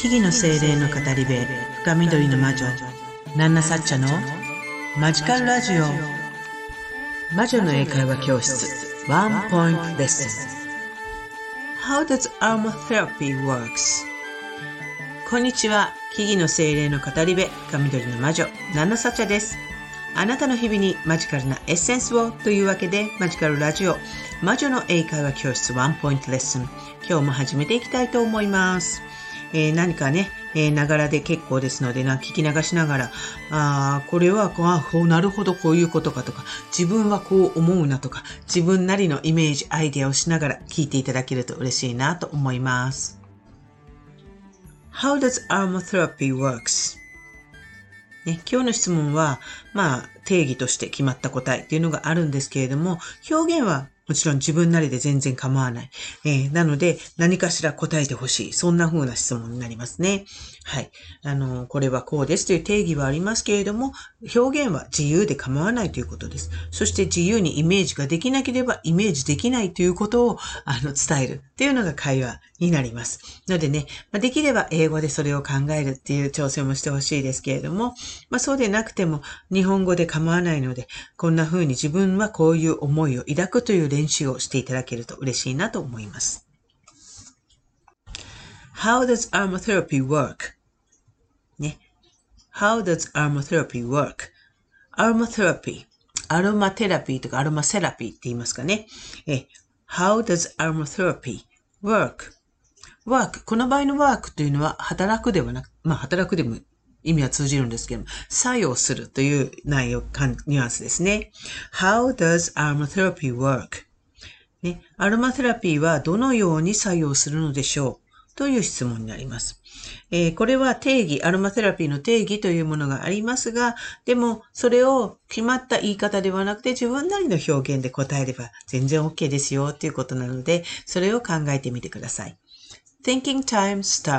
木々の精霊の語り部、深緑の魔女、ナンナサッチャのマジカルラジオ。魔女の英会話教室、ワンポイントレッスン。How does aromatherapy works? こんにちは。木々の精霊の語り部、深緑の魔女、ナンナサッチャです。あなたの日々にマジカルなエッセンスをというわけで、マジカルラジオ、魔女の英会話教室ワンポイントレッスン。今日も始めていきたいと思います。何かね、ながらで結構ですので聞き流しながら、これはなるほどこういうことかとか、自分はこう思うなとか、自分なりのイメージ、アイデアをしながら聞いていただけると嬉しいなと思います。How does aromatherapy works? ね、今日の質問は、定義として決まった答えっていうのがあるんですけれども、表現はもちろん自分なりで全然構わない。なので、何かしら答えてほしい。そんな風な質問になりますね。はい。これはこうですという定義はありますけれども、表現は自由で構わないということです。そして自由にイメージができなければイメージできないということを伝えるっていうのが会話になります。のでね、できれば英語でそれを考えるっていう挑戦もしてほしいですけれども、そうでなくても日本語で構わないので、こんな風に自分はこういう思いを抱くという練習をしていただけると嬉しいなと思います。How does aromatherapy work? ね。How does aromatherapy work? aromatherapy アロマテラピーとかアロマセラピーって言いますかね。How does aromatherapy work? work この場合の work というのは働くではなく、働くでも意味は通じるんですけども、作用するという内容、ニュアンスですね。How does aromatherapy work? ね、アロマテラピーはどのように作用するのでしょうという質問になります。これは定義、アロマテラピーの定義というものがありますが、でもそれを決まった言い方ではなくて自分なりの表現で答えれば全然 OK ですよということなので、それを考えてみてください。Thinking time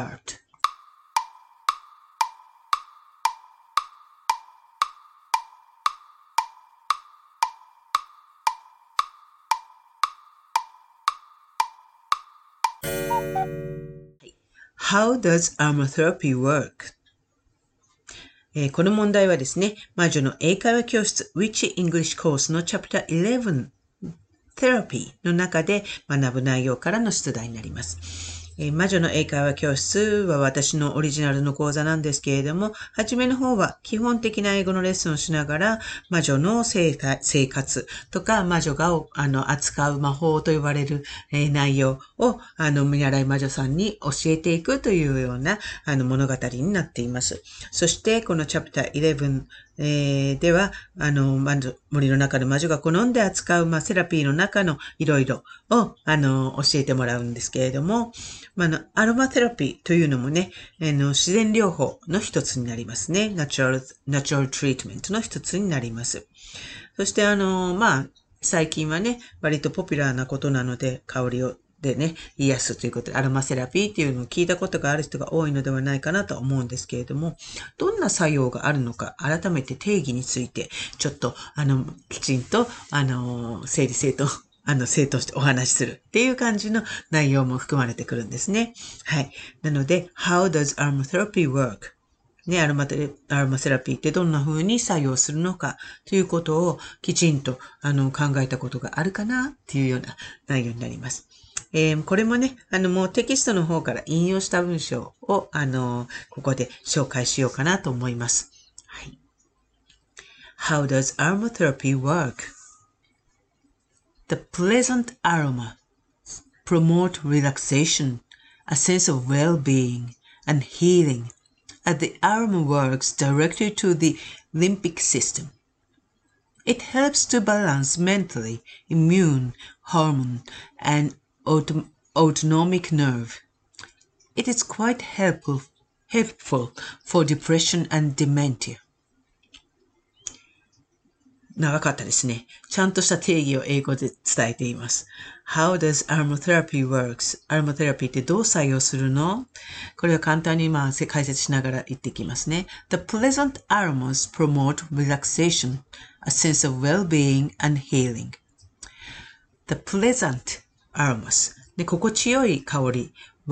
start.How does aromatherapy work? この問題はですね、魔女の英会話教室 Witchy English Course の Chapter 11 Therapy の中で学ぶ内容からの出題になります。魔女の英会話教室は私のオリジナルの講座なんですけれども、はじめの方は基本的な英語のレッスンをしながら、魔女の生活とか、魔女が扱う魔法と呼ばれる、内容を見習い魔女さんに教えていくというような物語になっています。そしてこのチャプター11では、森の中の魔女が好んで扱う、セラピーの中のいろいろを、教えてもらうんですけれども、アロマテラピーというのもね、自然療法の一つになりますね。ナチュラルトリートメントの一つになります。そして、最近はね、割とポピュラーなことなので、香りをでね、癒すということで、アロマセラピーっていうのを聞いたことがある人が多いのではないかなと思うんですけれども、どんな作用があるのか、改めて定義について、ちょっと、きちんと、整理整頓してお話しするっていう感じの内容も含まれてくるんですね。はい。なので、How does aromatherapy work? ね、アロマセラピーってどんな風に作用するのかということをきちんと考えたことがあるかなっていうような内容になります。これもね、もうテキストの方から引用した文章を、ここで紹介しようかなと思います。はい。How does aromatherapy work? The pleasant aroma promote relaxation, a sense of well-being, and healing, as the aroma works directly to the limbic system. It helps to balance mentally, immune, hormone, and autonomic nerve. It is quite helpful for depression and dementia. 長かったですね。ちゃんとした定義を英語で伝えています。How does aromatherapy works? アロマテラピーってどう作用するの？これを簡単に解説しながら言っていきますね。The pleasant aromas promote relaxation, a sense of well-being and healing. The pleasant aromas で心地よい香りは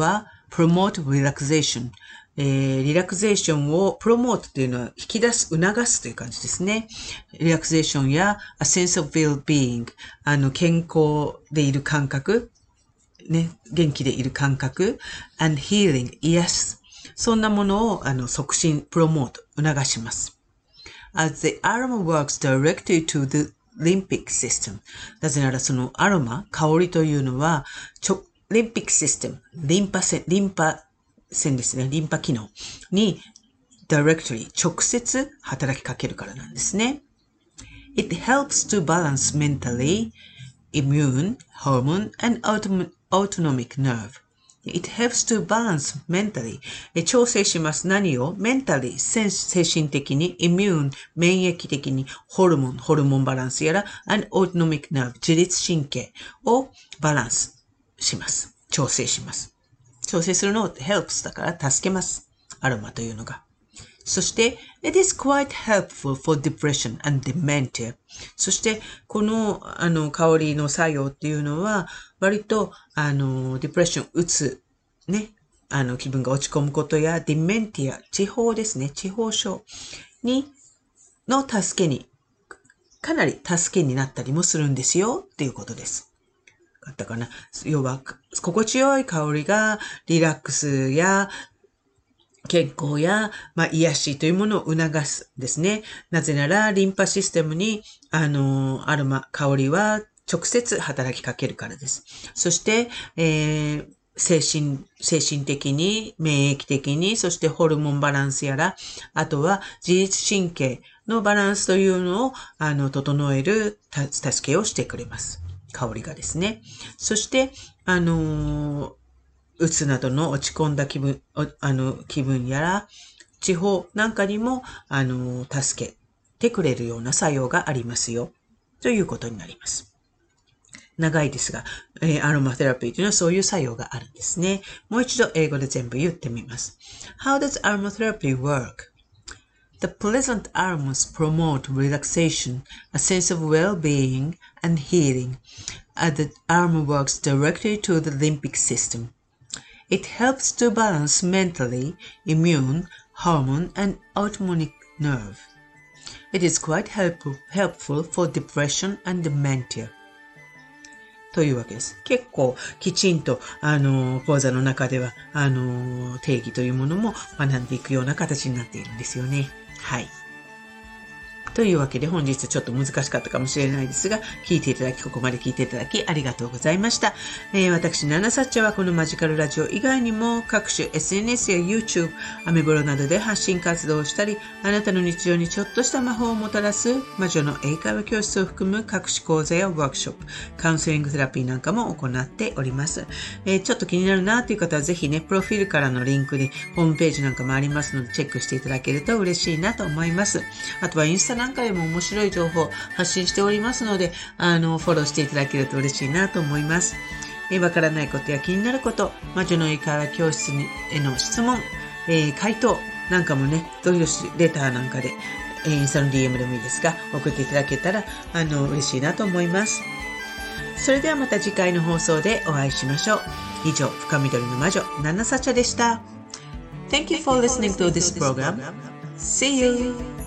promote relaxation、リラクゼーションをプロモートというのは引き出す、促すという感じですね。リラクゼーションや a sense of well-being、健康でいる感覚、ね、元気でいる感覚、and healing、癒す。そんなものを促進、プロモート、促します。As the aroma works directly to the limbic system。なぜならそのアロマ、香りというのは、limbic system、リンパ線ですね、リンパ機能に directly 直接働きかけるからなんですね。It helps to balance mentally, immune, hormone, and autonomic nerve.It helps to balance mentally. 調整します。何を ?mentally, 精神的に immune, 免疫的にホルモンバランスやら and autonomic nerve, 自律神経をバランスします。調整します。調整するのを helps だから助けます。アロマというのが。そして、it is quite helpful for depression and dementia. そして、この、香りの作用っていうのは、割と、ディプレッション、うつ、ね、気分が落ち込むことや、ディメンティア、痴呆ですね、痴呆症の助けに、かなり助けになったりもするんですよ、っていうことです。あったかな？要は、心地よい香りが、リラックスや、健康や、癒しというものを促すですね。なぜなら、リンパシステムに、アロマ、香りは直接働きかけるからです。そして、精神的に、免疫的に、そしてホルモンバランスやら、あとは自律神経のバランスというのを、整える助けをしてくれます。香りがですね。そして、うつなどの落ち込んだ気分やら、痴呆なんかにも、助けてくれるような作用がありますよ。ということになります。長いですが、アロマテラピーというのはそういう作用があるんですね。もう一度英語で全部言ってみます。How does aromatherapy work?The pleasant aromas promote relaxation, a sense of well-being, and healing, as the aroma works directly to the limbic system.It helps to balance mentally, immune, hormone, and autonomic nerve. It is quite helpful for depression and dementia. というわけです。結構きちんと、講座の中では、定義というものも学んでいくような形になっているんですよね。はい。というわけで本日ちょっと難しかったかもしれないですが、ここまで聞いていただきありがとうございました。私、ナナサッチャはこのマジカルラジオ以外にも各種 SNS や YouTube、アメブロなどで発信活動をしたり、あなたの日常にちょっとした魔法をもたらす魔女の英会話教室を含む各種講座やワークショップ、カウンセリングセラピーなんかも行っております。ちょっと気になるなという方はぜひね、プロフィールからのリンクでホームページなんかもありますのでチェックしていただけると嬉しいなと思います。あとはインスタなんかでも面白い情報を発信しておりますので、フォローしていただけると嬉しいなと思います。わからないことや気になること、魔女の英会話教室への質問、回答なんかもね、どういうレターなんかで、インスタの DM でもいいですが、送っていただけたら、嬉しいなと思います。それではまた次回の放送でお会いしましょう。以上、深緑の魔女、ナナサチャでした。Thank you for listening to this program. See you!